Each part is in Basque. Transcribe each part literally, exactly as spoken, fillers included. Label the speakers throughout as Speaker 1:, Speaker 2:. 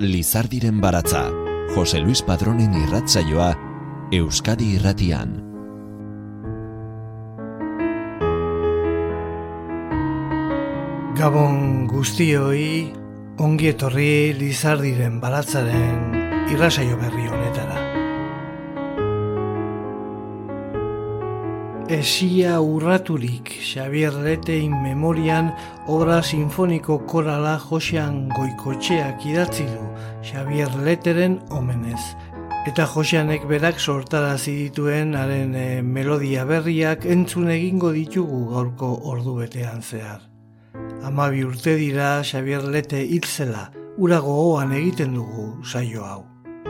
Speaker 1: Lizardiren baratza, Jose Luis Padronen irratsaioa, Euskadi Irratian.
Speaker 2: Gabon guztioi, ongi etorri Lizardiren baratzaren irratsaio berri honetara. Esia urraturik Xabier Letein memorian obra sinfoniko korala Josean Goikotxeak idatzi du Xabier Leteren omenez. Eta Joseanek berak sortarazi dituen haren e, melodia berriak entzun egingo ditugu gaurko ordubetean zehar. Hamabi urte dira Xabier Lete hil zela, ura gogoan egiten dugu saio hau.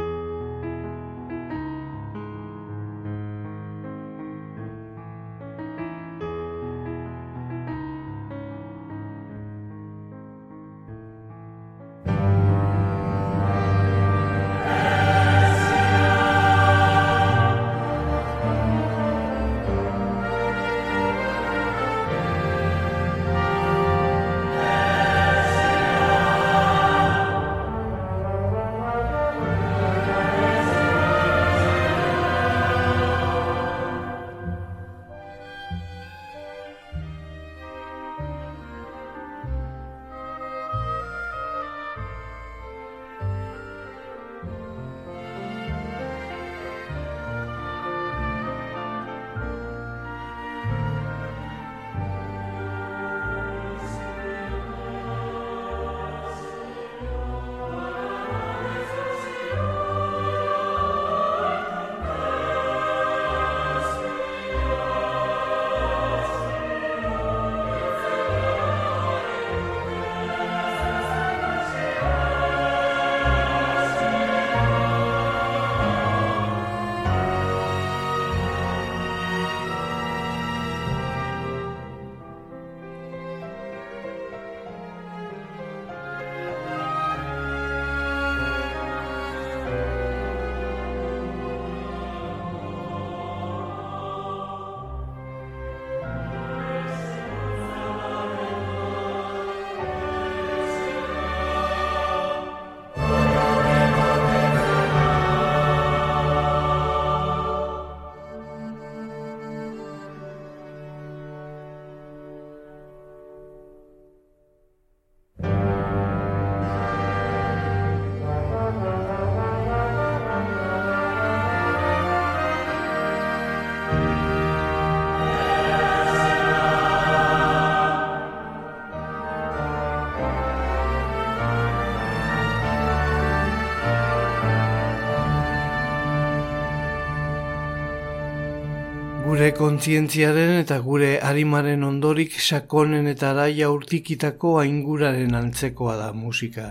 Speaker 2: Gure kontzientziaren eta gure arimaren ondorik sakonen eta araia urtikitako ainguraren antzekoa da musika.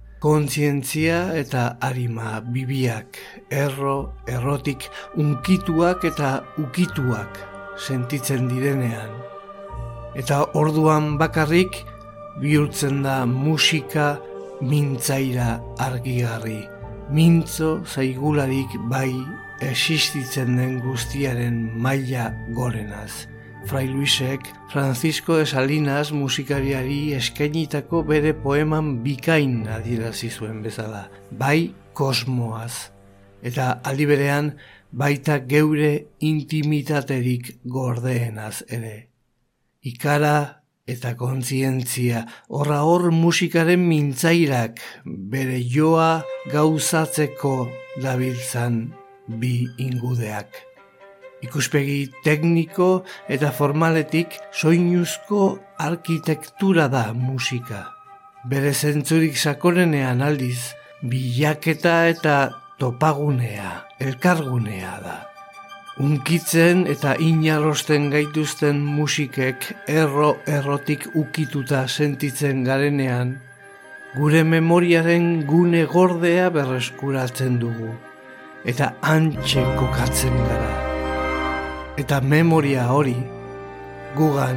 Speaker 2: Kontzientzia eta arima bibiak, erro, errotik, unkituak eta ukituak sentitzen direnean. Eta orduan bakarrik bihurtzen da musika mintzaira argigarri. Mintzo zaigularik bai existitzen den guztiaren maila gorenaz. Fray Luisek Francisco de Salinas musikariari eskainitako bere poeman bikain adierazi zuen bezala, bai kosmoaz, eta aldi berean baita geure intimitaterik gordeenaz ere. Ikara eta kontzientzia, horra hor musikaren mintzairak bere joa gauzatzeko dabiltzan bi ingudeak. Ikuspegi tekniko eta formaletik soinuzko arkitektura da musika. Bere zentzurik sakonenean aldiz, bilaketa eta topagunea, elkargunea da. Unkitzen eta inarrosten gaituzten musikek erro-errotik ukituta sentitzen garenean, gure memoriaren gune gordea berreskuratzen dugu. Eta hantxe kokatzen gara. Eta memoria hori, gugan,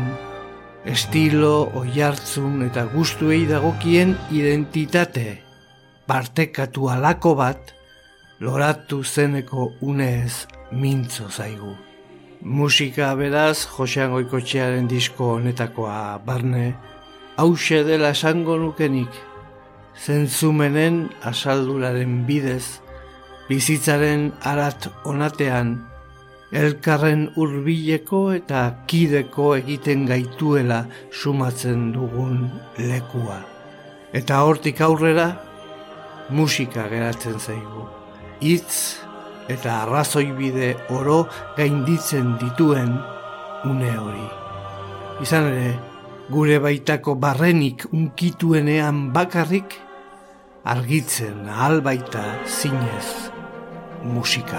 Speaker 2: estilo, oihartzun eta gustuei dagokien identitate partekatu alako bat, loratu zeneko unez mintzo zaigu. Musika beraz, Josean Goikotxearen disko honetakoa barne, hauxe dela esango nukenik, zentzumenen asalduraren bidez, bizitzaren arat onatean, elkarren hurbileko eta kideko egiten gaituela sumatzen dugun lekua. Eta hortik aurrera, musika geratzen zaigu. Hitz eta arrazoibide oro gainditzen dituen une hori. Izan ere, gure baitako barrenik unkituenean bakarrik, argitzen ahal baita zinez musika.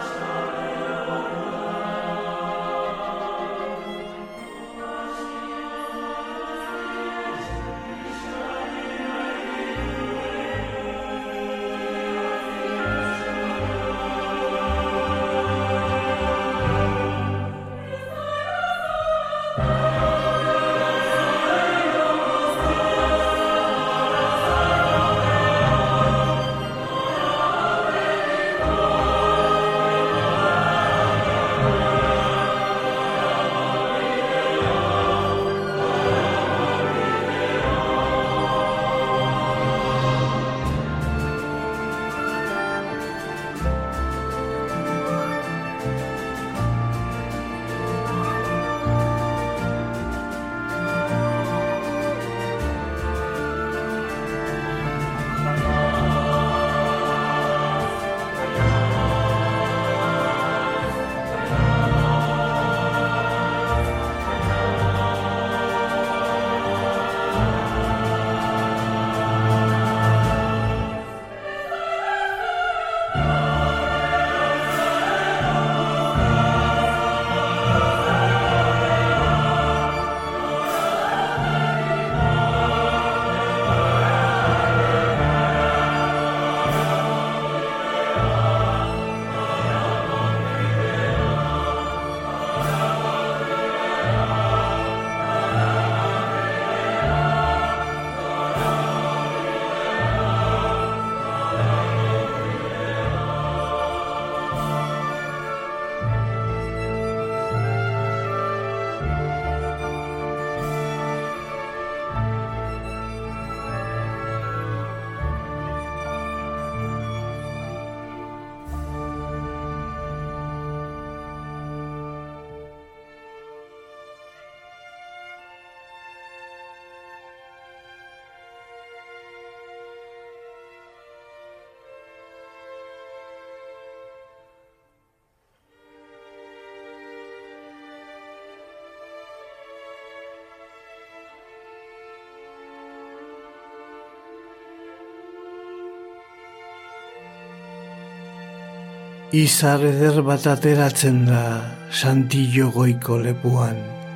Speaker 2: Izar eder bat ateratzen da Santillo goiko lepuan.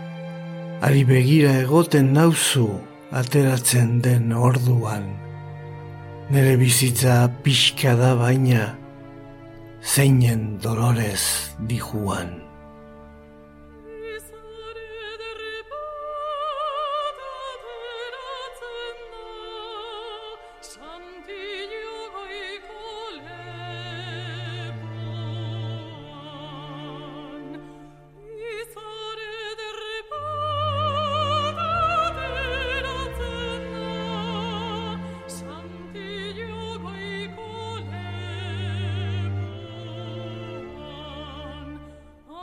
Speaker 2: Ari begira egoten nauzu ateratzen den orduan. Nere bizitza pixka da baina, zeinen dolorez dijuan.
Speaker 3: Oh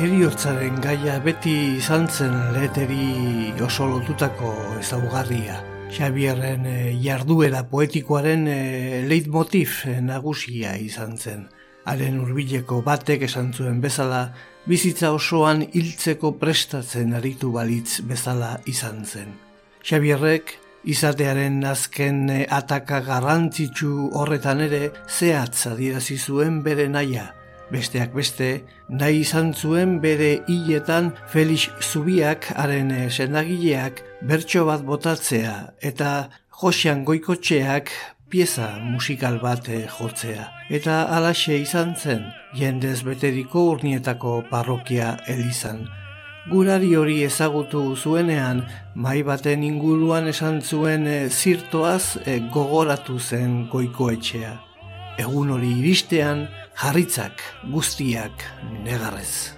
Speaker 2: Heriotzaren gaia beti izan zen Leteri oso lotutako ezaugarria. Xabierren jarduera poetikoaren leitmotiv nagusia izan zen. Haren hurbileko batek esan zuen bezala, bizitza osoan hiltzeko prestatzen aritu balitz bezala izan zen. Xabierrek izatearen azken ataka garrantzitsu horretan ere zehatz adierazi zuen bere nahia. Besteak beste, nahi izan zuen bere hiletan Felix Zubiak haren sendagileak bertso bat botatzea eta Joxean Goikotxeak pieza musikal bat jotzea. Eta halaxe izan zen, jendez beteriko Urnietako parrokia elizan. Gurari hori ezagutu zuenean, mahai baten inguruan esan zuen e, zirtoaz e, gogoratu zen Goikoetxea. Egun hori iristean, jarritzak guztiak negarrez.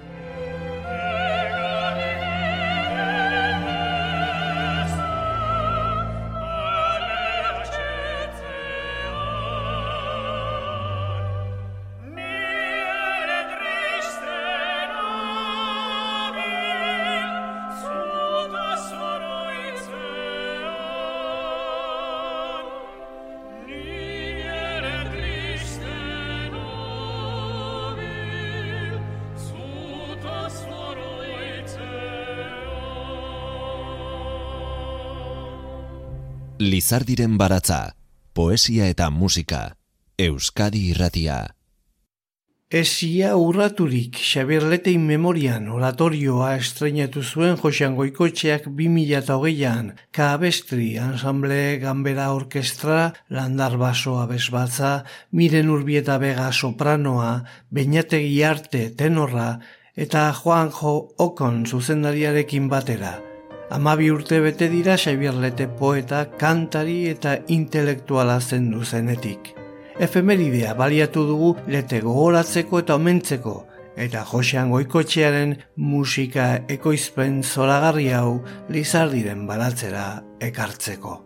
Speaker 1: Lizardiren baratza, poesia eta musika, Euskadi Irratia.
Speaker 2: Esia urraturik Xabier Letein memorian oratorioa estreinatu zuen Joxean Goikotxeak bi mila hogeian, Kabestri, Ensamble Ganbera Orkestra, Landar Baso Abesbatza, Miren Urbieta Bega sopranoa, Beñategi Arte tenorra eta Juanjo Okon zuzendariarekin batera. Hamabi urte bete dira Xabier Lete poeta, kantari eta intelektuala zendu zenetik. Efemeridea baliatu dugu Lete gogoratzeko eta omentzeko, eta Joxean Goikotxearen musika ekoizpen zoragarri hau Lizardiren baratzera ekartzeko.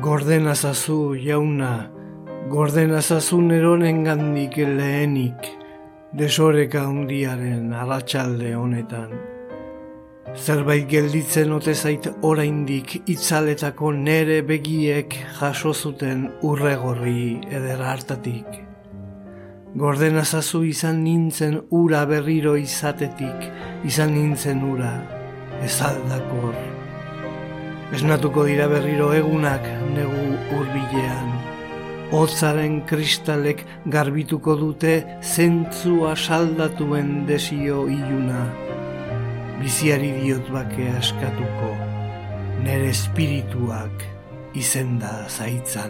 Speaker 2: Gordenazazu, jauna, gordenazazu neronen gandik lehenik, desoreka hundiaren arratsalde honetan. Zerbait gelditzen ote zait oraindik itzaletako nere begiek jaso zuten urregorri eder hartatik. Gordenazazu izan nintzen ura berriro izatetik, izan nintzen ura, ez aldakor. Esnatuko dira berriro egunak negu hurbilean. Hotzaren kristalek garbituko dute zentzua saldatuen desio iluna. Biziari diot bake askatuko, nere espirituak izenda zaitzan.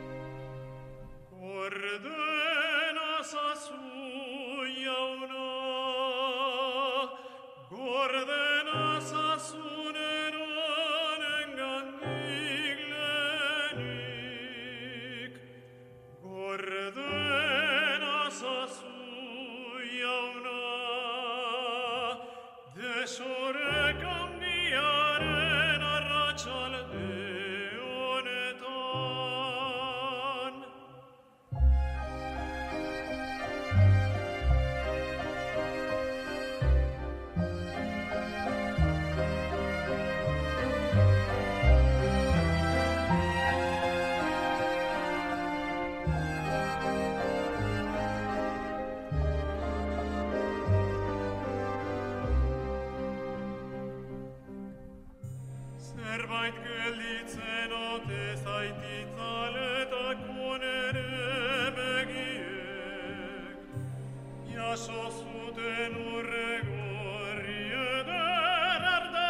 Speaker 3: Zerbait gelditzen ote zait itzaletako nere begiek, jaso zuten urregorri eder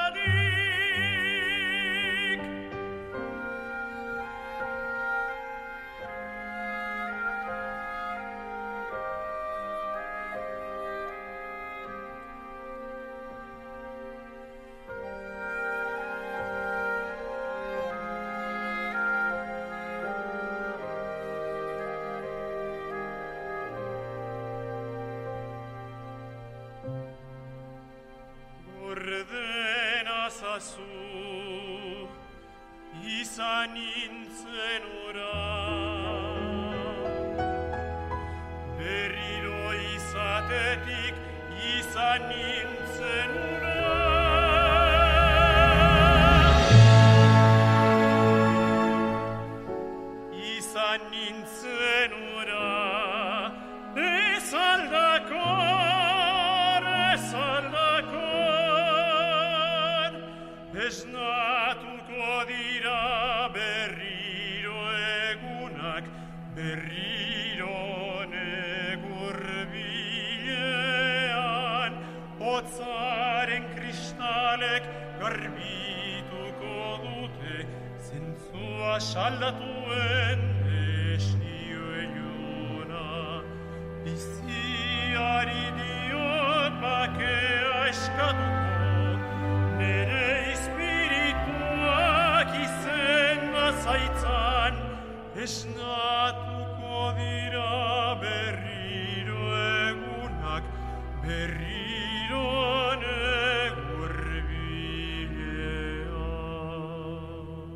Speaker 3: hartatik. Ordenazazu, izan nintzen ura, berriro izatetik izan nintzen ura. Izan nintzen ura, ez aldakor, ez aldakor, esnatuko dira berriro egunak, berriro negur bilean, hotzaren kristalek garbituko dute, zentzua saldatuen desnio iluna. Biziari diot bakea eskatuko, nere espirituak izenda zaitzan, esnatuko dira berriro egunak, berriro negur bilean.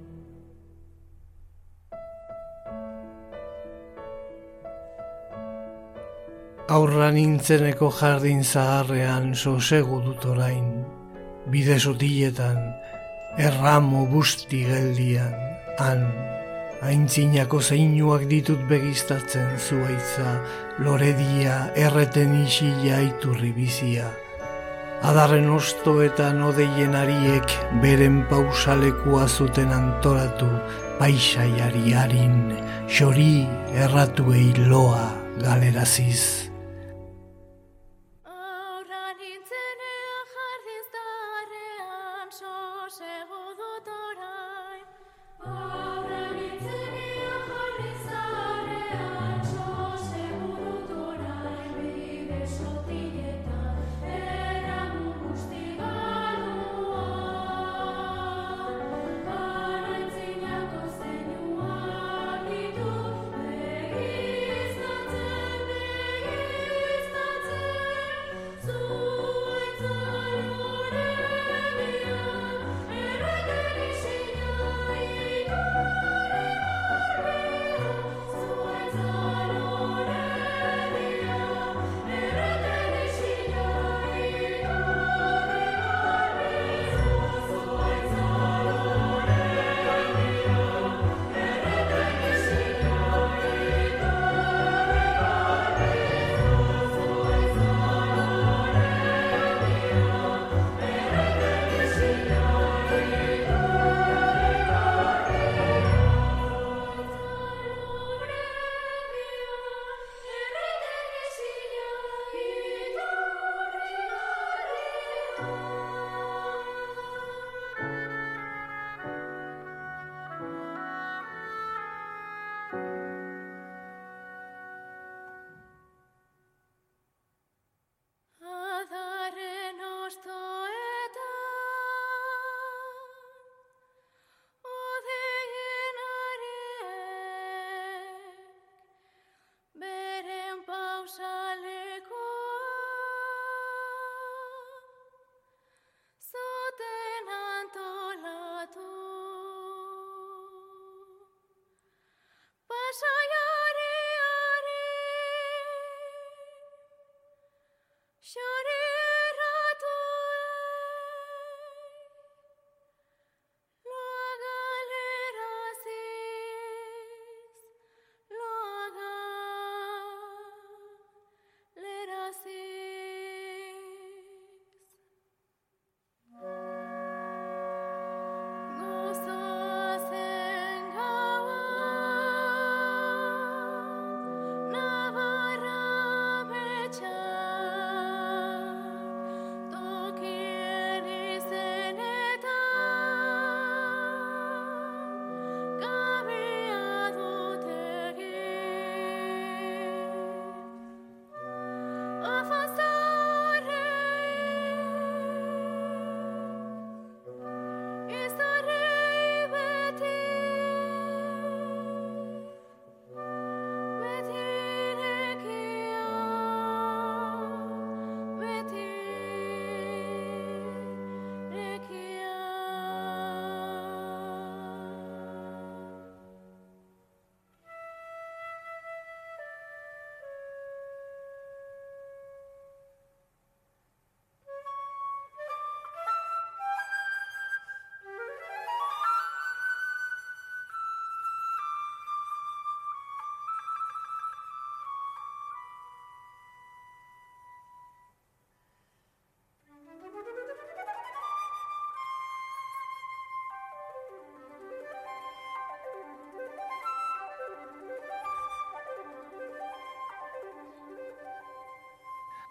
Speaker 2: Aurra nintzeneko jardin zaharrean sosegu dut orain, bide sotiletan, erramo busti geldian, han, aintzinako zeinuak ditut begiztatzen zuaitza, loredia, erreten isila iturri bizia. Adarren ostoetan odeien ariek beren pausalekua zuten antolatu, paisaiari harin, xori erratuei loa galeraziz.
Speaker 4: Begiztatzen, begiztatzen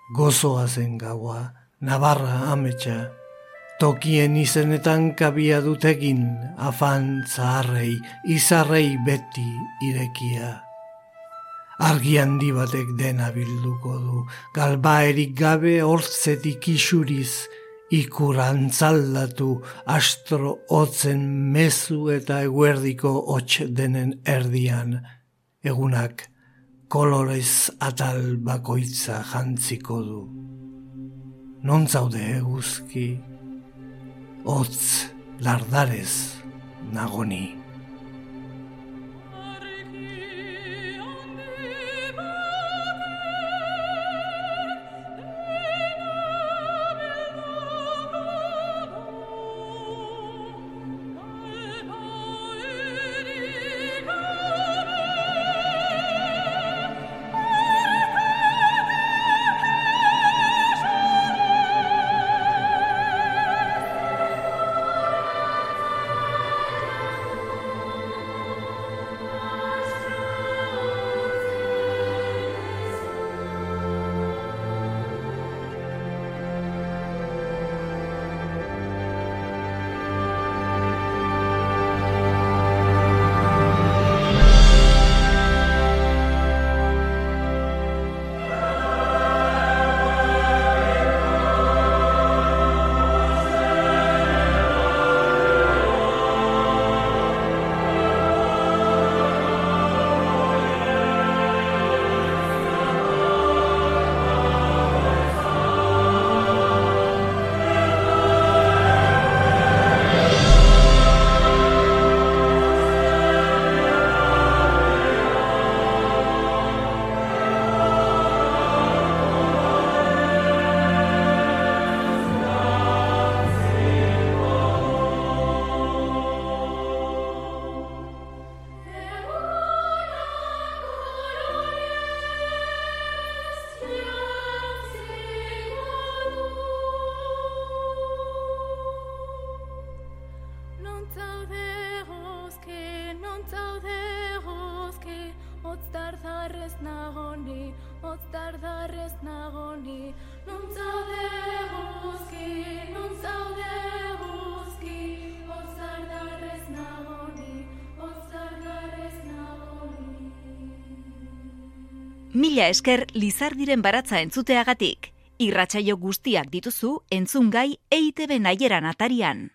Speaker 2: Gozoa zen gaua, Navarra ametsa, tokien izenetan kabia dutegin, afan zaharrei, izarrei beti irekia. Argi handi batek dena bilduko du, galbaerik gabe hortzetik isuriz, ikur antzaldatu, astro hotzen mezu eta eguerdiko hots denen erdian, egunak kolorez atal bakoitza jantziko du. Non zaude eguzki, hotz lardarez nagoni.
Speaker 4: Mila esker Lizardiren baratza entzuteagatik. Irratsaio guztiak dituzu entzungai E I Te Be Naieran atarian.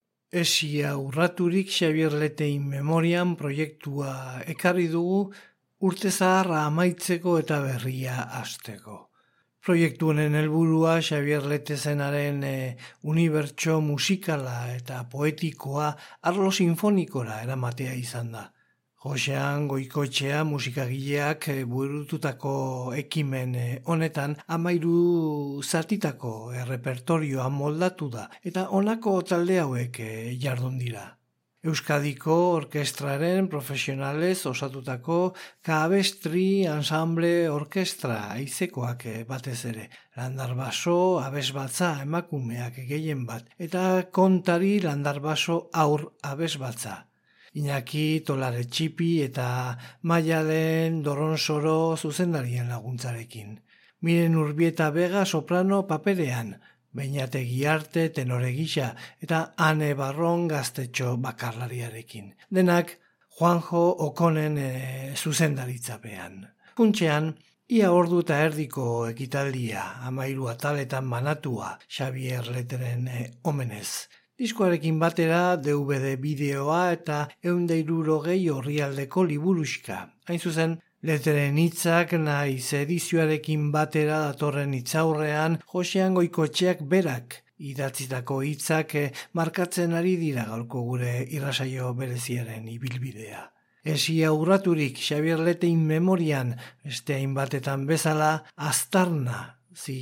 Speaker 2: Esia urraturik Xabier Letein memorian proiektua ekarri dugu urte zaharra amaitzeko eta berria hasteko. Proiektu honen helburua Xabier Letezenaren e, unibertso musikala eta poetikoa arlo sinfonikora eramatea izan da. Josean Goikoetxea musikagileak burututako ekimen honetan amairu zatitako errepertorioa moldatu da eta honako talde hauek jardun dira. Euskadiko orkestraren profesionalez osatutako Kabestri Ensemble Orkestra haizekoak batez ere, landarbaso abesbatza emakumeak gehien bat eta kontari landarbaso aur abesbatza. Iñaki Tolaretxipi eta Maialen Doronsoro zuzendarien laguntzarekin. Miren Urbieta Vega soprano paperean, Beñategi Arte tenore gisa eta Ane Barron gaztetxo bakarlariarekin. Denak Juanjo Okonen e, zuzendaritzapean. Funtxean, ia ordu eta erdiko ekitaldia, amairu ataletan banatua Xabier Leteren e, omenez. Diskoarekin batera D V D bideoa eta ehun eta hirurogei orrialdeko liburuxka. Hain zuzen, Leteren hitzak naiz edizioarekin batera datorren hitzaurrean Josean Goikoetxeak berak idatzitako hitzak markatzen ari dira gaurko gure irrasaio bereziaren ibilbidea. Esia urraturik Xabier Letein memorian, beste hainbatetan bezala, aztarna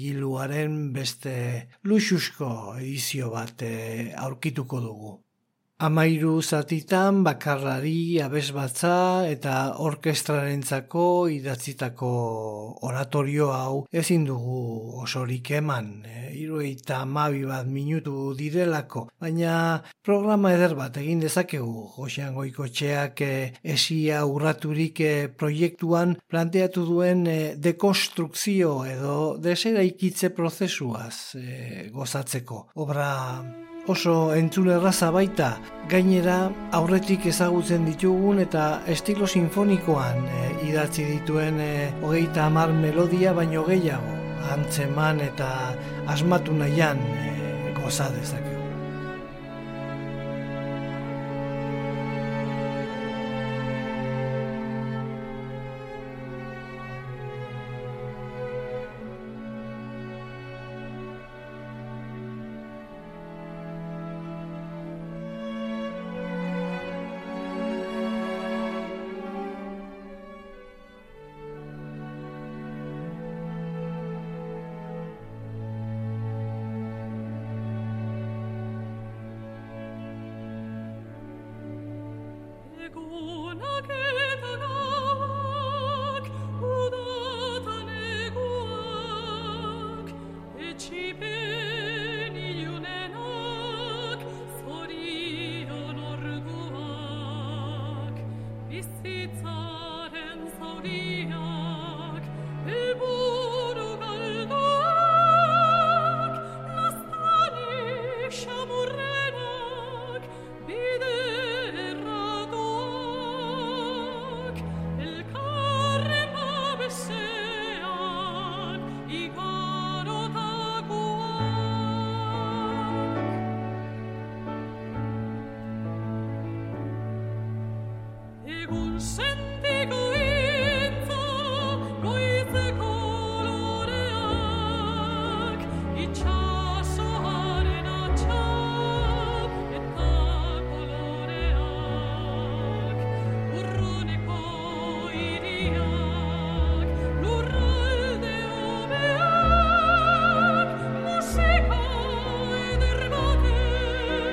Speaker 2: zigiluaren beste luxusko edizio bat aurkituko dugu. Amairu zatitan bakarlari, abesbatza eta orkestrarentzako idatzitako oratorio hau ezin dugu osorik eman. Hirurogeita hamabi bat minutu direlako, baina programa eder bat egin dezakegu. Joxean Goikotxeak esia urraturik proiektuan planteatu duen dekonstrukzio edo deseraikitze prozesuaz gozatzeko. Obra oso entzulerraza baita, gainera aurretik ezagutzen ditugun eta estilo sinfonikoan e, idatzi dituen e, hogeita hamar melodia baino gehiago, antzeman eta asmatu nahian e, goza dezakegu.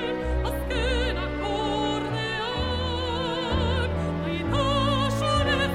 Speaker 5: Soledad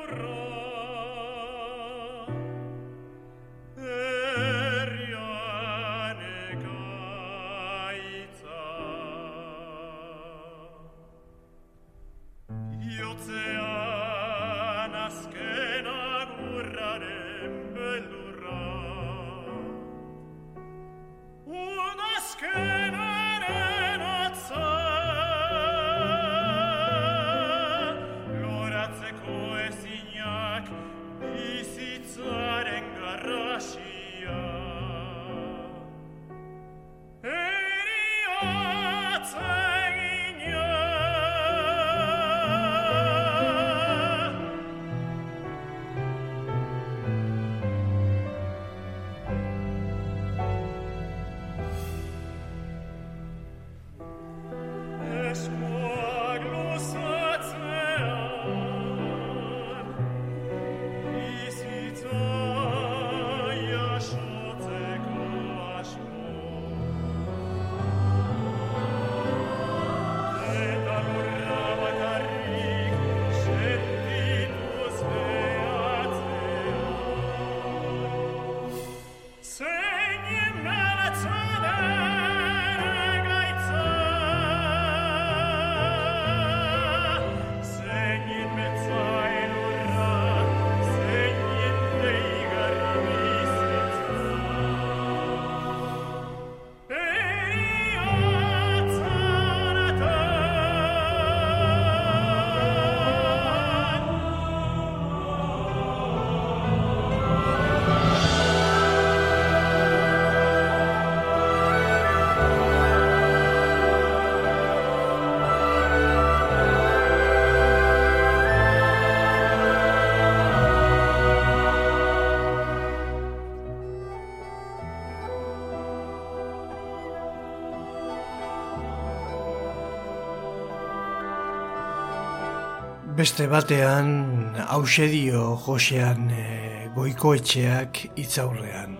Speaker 2: Beste batean, hause dio Josean e, Goikoetxeak hitzaurrean.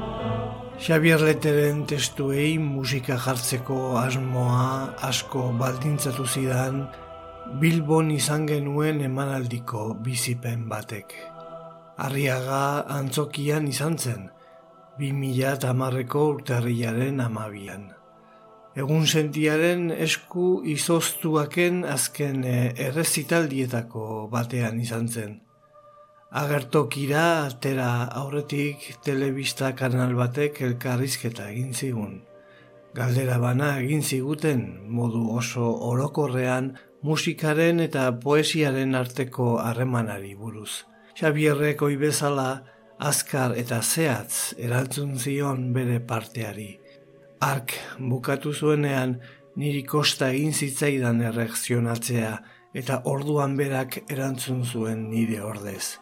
Speaker 2: Xabier Leteren testuei musika jartzeko asmoa asko baldintzatu zidan Bilbon izan genuen emanaldiko bizipen batek. Arriaga antzokian izan zen, bi mila hamareko urtarrilaren hamabian. Egun sentiaren esku izoztuaken azken errezitaldietako batean izan zen. Agertokira atera aurretik telebista kanal batek elkarrizketa egin zigun. Galdera bana egin ziguten modu oso orokorrean musikaren eta poesiaren arteko harremanari buruz. Xabierrek ohi bezala azkar eta zehatz erantzun zion bere parteari. Ark bukatu zuenean niri kosta egin zitzaidan erreakzionatzea eta orduan berak erantzun zuen nire ordez.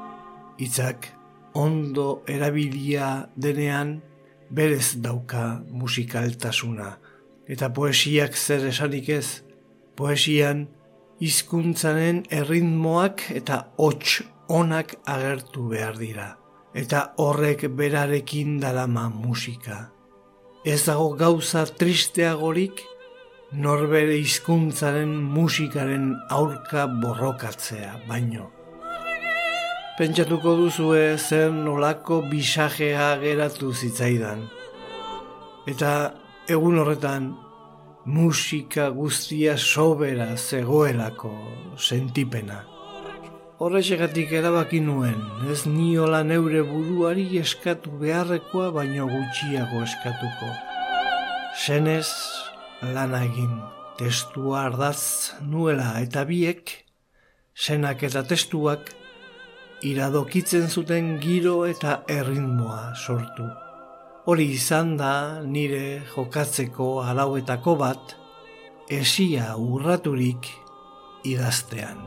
Speaker 2: Hitzak ondo erabilia denean berez dauka musikaltasuna eta poesiak zer esanik ez. Poesian hizkuntzaren erritmoak eta hots onak agertu behar dira eta horrek berarekin darama musika. Ez dago gauza tristeagorik norbere hizkuntzaren musikaren aurka borrokatzea baino. Pentsatuko duzue zer nolako bisajea geratu zitzaidan. Eta egun horretan musika guztia sobera zegoelako sentipena. Horrexegatik erabaki nuen, ez niola neure buruari eskatu beharrekoa baino gutxiago eskatuko. Senez lana egin, testua ardatz nuela eta biek, senak eta testuak, iradokitzen zuten giro eta erritmoa sortu. Hori izan da nire jokatzeko arauetako bat, esia urraturik idaztean.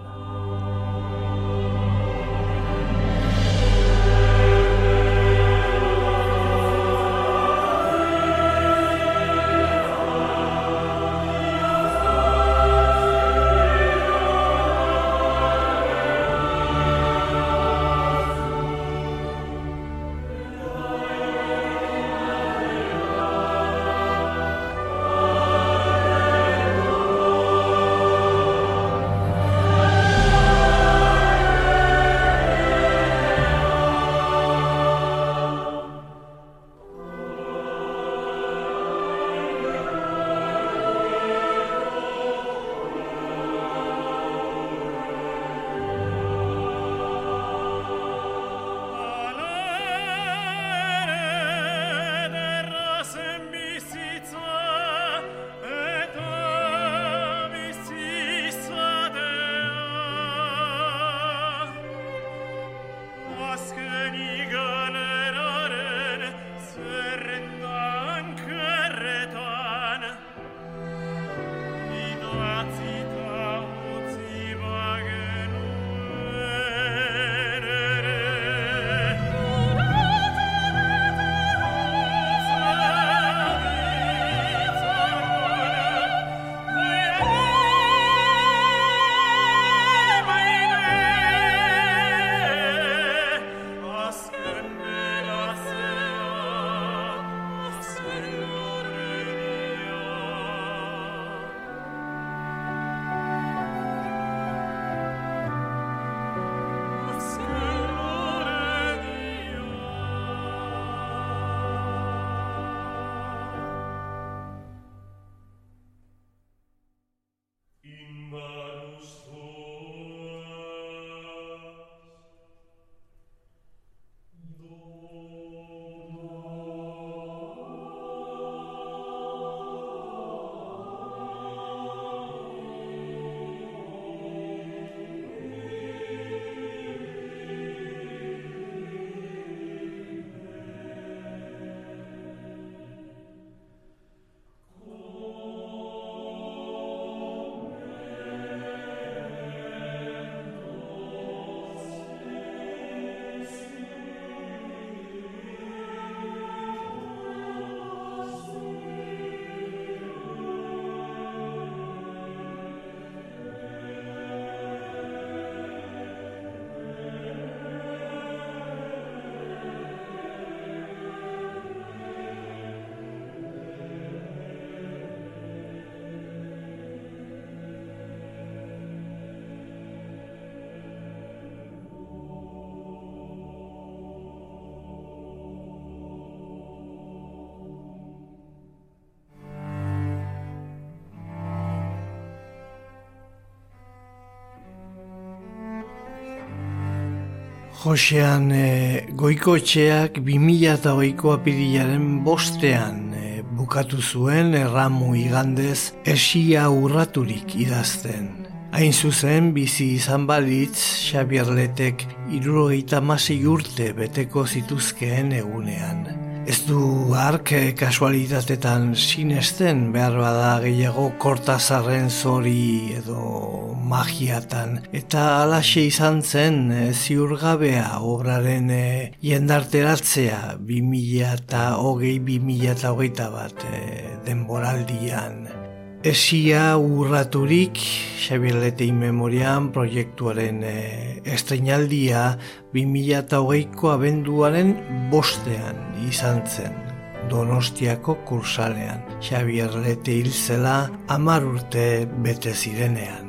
Speaker 2: Josean e, Goikoetxeak bi mila hogeiko apirilaren bostean e, bukatu zuen erramu igandez esia urraturik idazten. Hain zuzen bizi izan balitz Xabier Letek hirurogeita hamasei urte beteko zituzkeen egunean. Ez du hark kasualitatetan sinesten, behar bada gehiago Kortazarren zori edo magiatan. Eta halaxe izan zen ziurgabea obraren e, jendarteratzea bi mila hogei bi mila hogeita bat e, denboraldian. Esia urraturik, Xabier Lete in memoriam proiektuaren e, estreinaldia bi mila hogeiko abenduaren bostean izan zen, Donostiako kursalean. Xabier Lete hil zela hamar urte bete zirenean.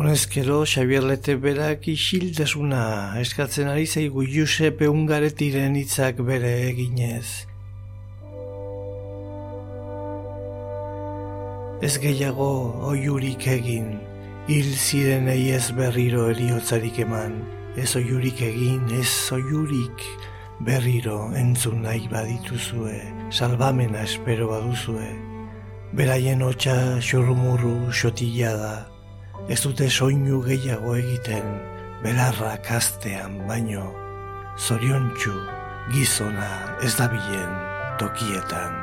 Speaker 2: Honezkero, Xabier Lete berak isiltasuna eskatzen ari zaigu Giuseppe Ungaretiren hitzak bere eginez. Ez gehiago oiurik egin, hil zirenei ez berriro eriotzarik eman, ez oiurik egin, ez oiurik berriro entzun nahi badituzue, salbamena espero baduzue, beraien hotsa xurrumurru xotila da, ez dute soinu gehiago egiten, belarrak hastean baino, zoriontsu gizona ez dabilen tokietan.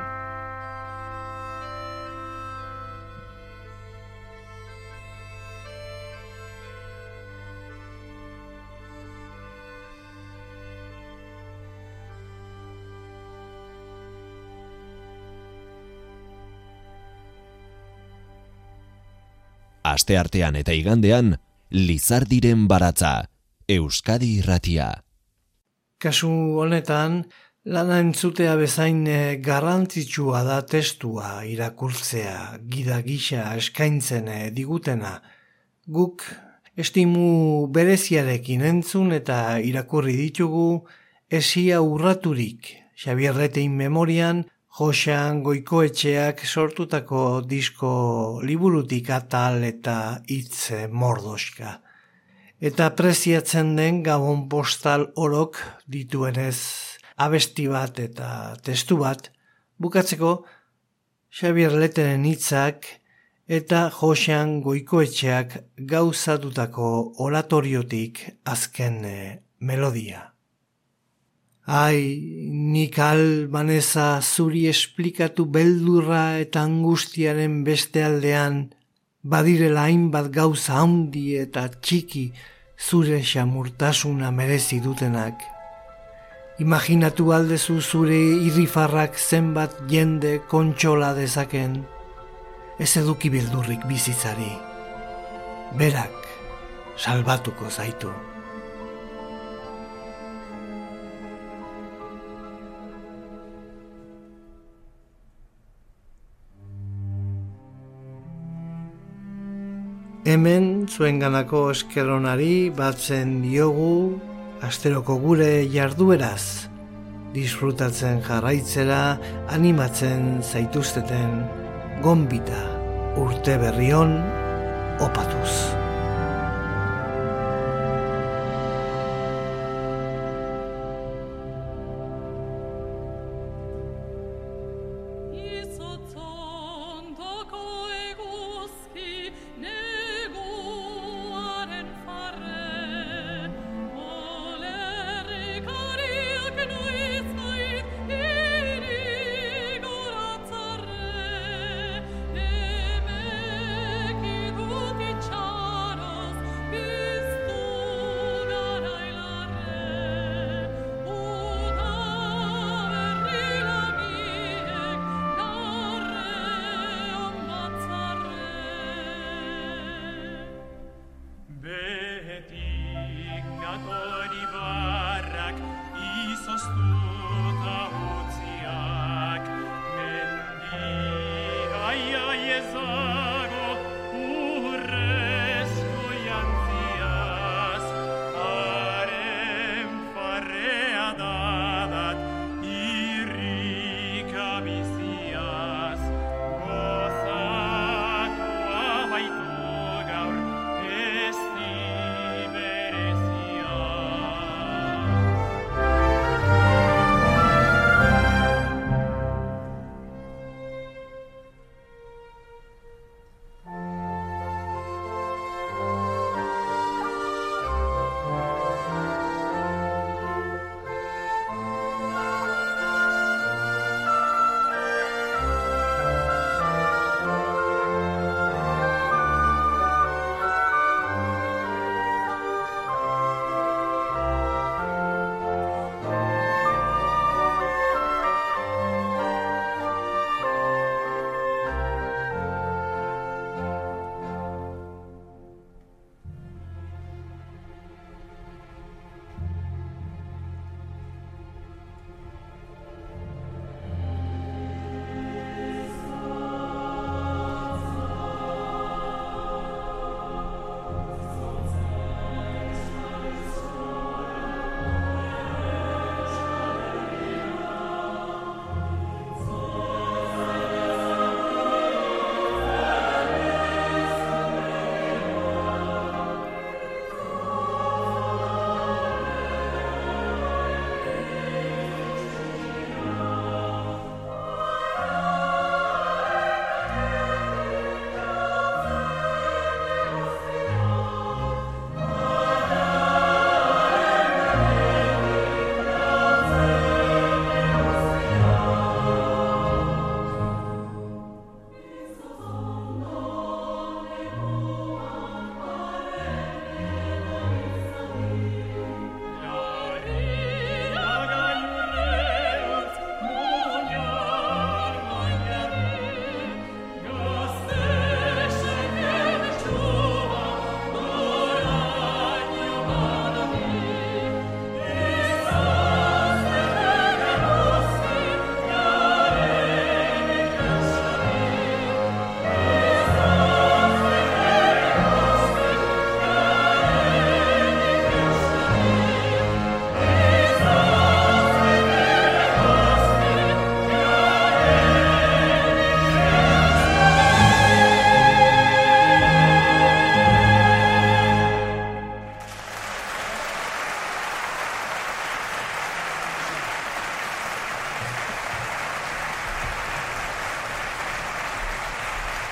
Speaker 1: Asteartean eta igandean, Lizardiren baratza, Euskadi irratia.
Speaker 2: Kasu honetan, lana entzutea bezain garrantzitsua da testua irakurtzea, gida gisa eskaintzen digutena. Guk estimu bereziarekin entzun eta irakurri ditugu Esia urraturik, Xabier Letein memorian, Joxean Goikoetxeak sortutako disko liburutik atal eta hitz mordoska. Eta preziatzen den Gabon postal orok dituenez abesti bat eta testu bat, bukatzeko Xabier Leteren hitzak eta Joxean Goikoetxeak gauzatutako oratoriotik azken melodia. Ai, nik albaneza zuri esplikatu beldurra eta angustiaren beste aldean, badirela hainbat gauza handi eta txiki zure xamurtasuna merezi dutenak. Imaginatu aldezu zure irrifarrak zenbat jende kontsola dezaken, ez eduki beldurrik bizitzari. Berak salbatuko zaitu. Hemen zuenganako eskeronari batzen diogu asteroko gure jardueraz, disfrutatzen jarraitzera animatzen zaituzteten gonbita urte berrion opatuz.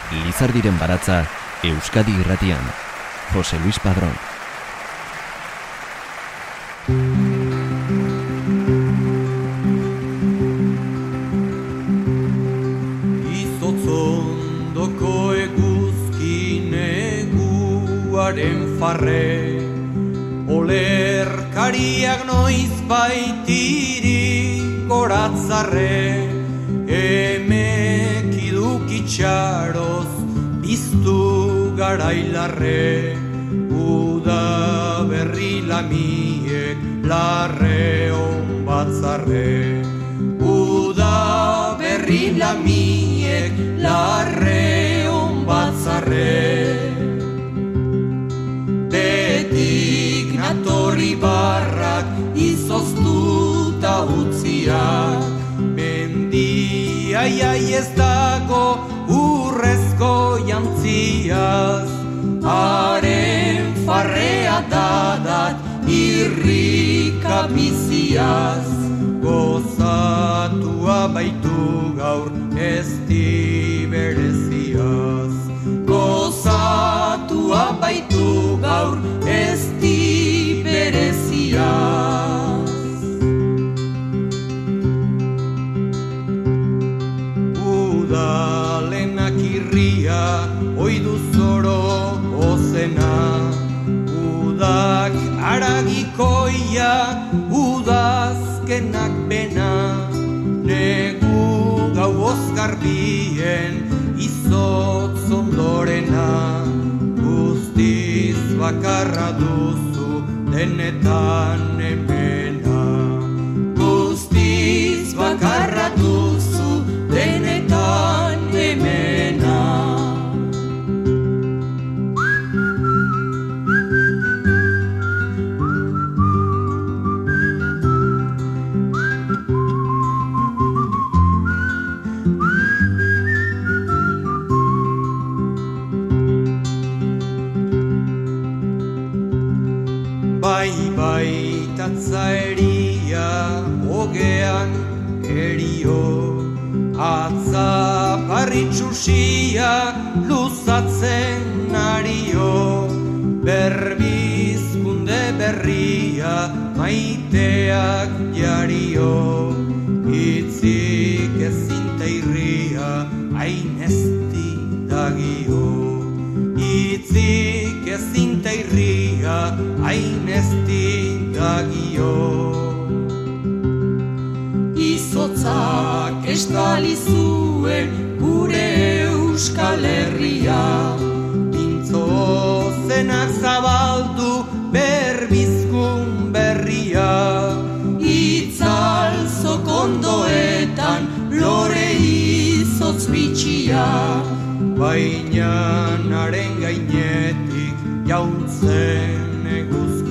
Speaker 1: Lizardiren baratza, Euskadi Irratian. Jose Luis Padrón.
Speaker 5: Izotzondoko eguzki neguaren farre, olerkariak noiz baitiri goratzarre, emek idukitxaroz biztu garailarre, uda berri lamiek larre on batzarre, uda berri lamiek larre on batzarre. Betik natorri barrak izoztuta utziak, mendia iai ez dago urrezko jantziaz, haren farrea dadat irrika biziaz, gozatua baitu gaur ez di bereziaz, gozatua baitu gaur ez di bereziaz. Udalenak irria oidu zoro ozena, udak aragikoia, udazkenak bena, negu gau ozgarbien izotz ondorena, guztiz bakarra duzu denetan emena, guztiz bakarra duzu denetan emena. Bai, bai, tatzaeria, ogean erio, atza parritxusia luzatzen ario, berbizkunde berria maiteak jario, itzik ezinte irria hain ezti dagio, itzik ezinte irria hain ezti dagio. Izotzak estali zuen gure Euskal Herria, pintzo zenak zabaldu berbizkun berria, itzal zokondoetan lore izotz bitxia, baina haren gainetik jauntzen eguzkia.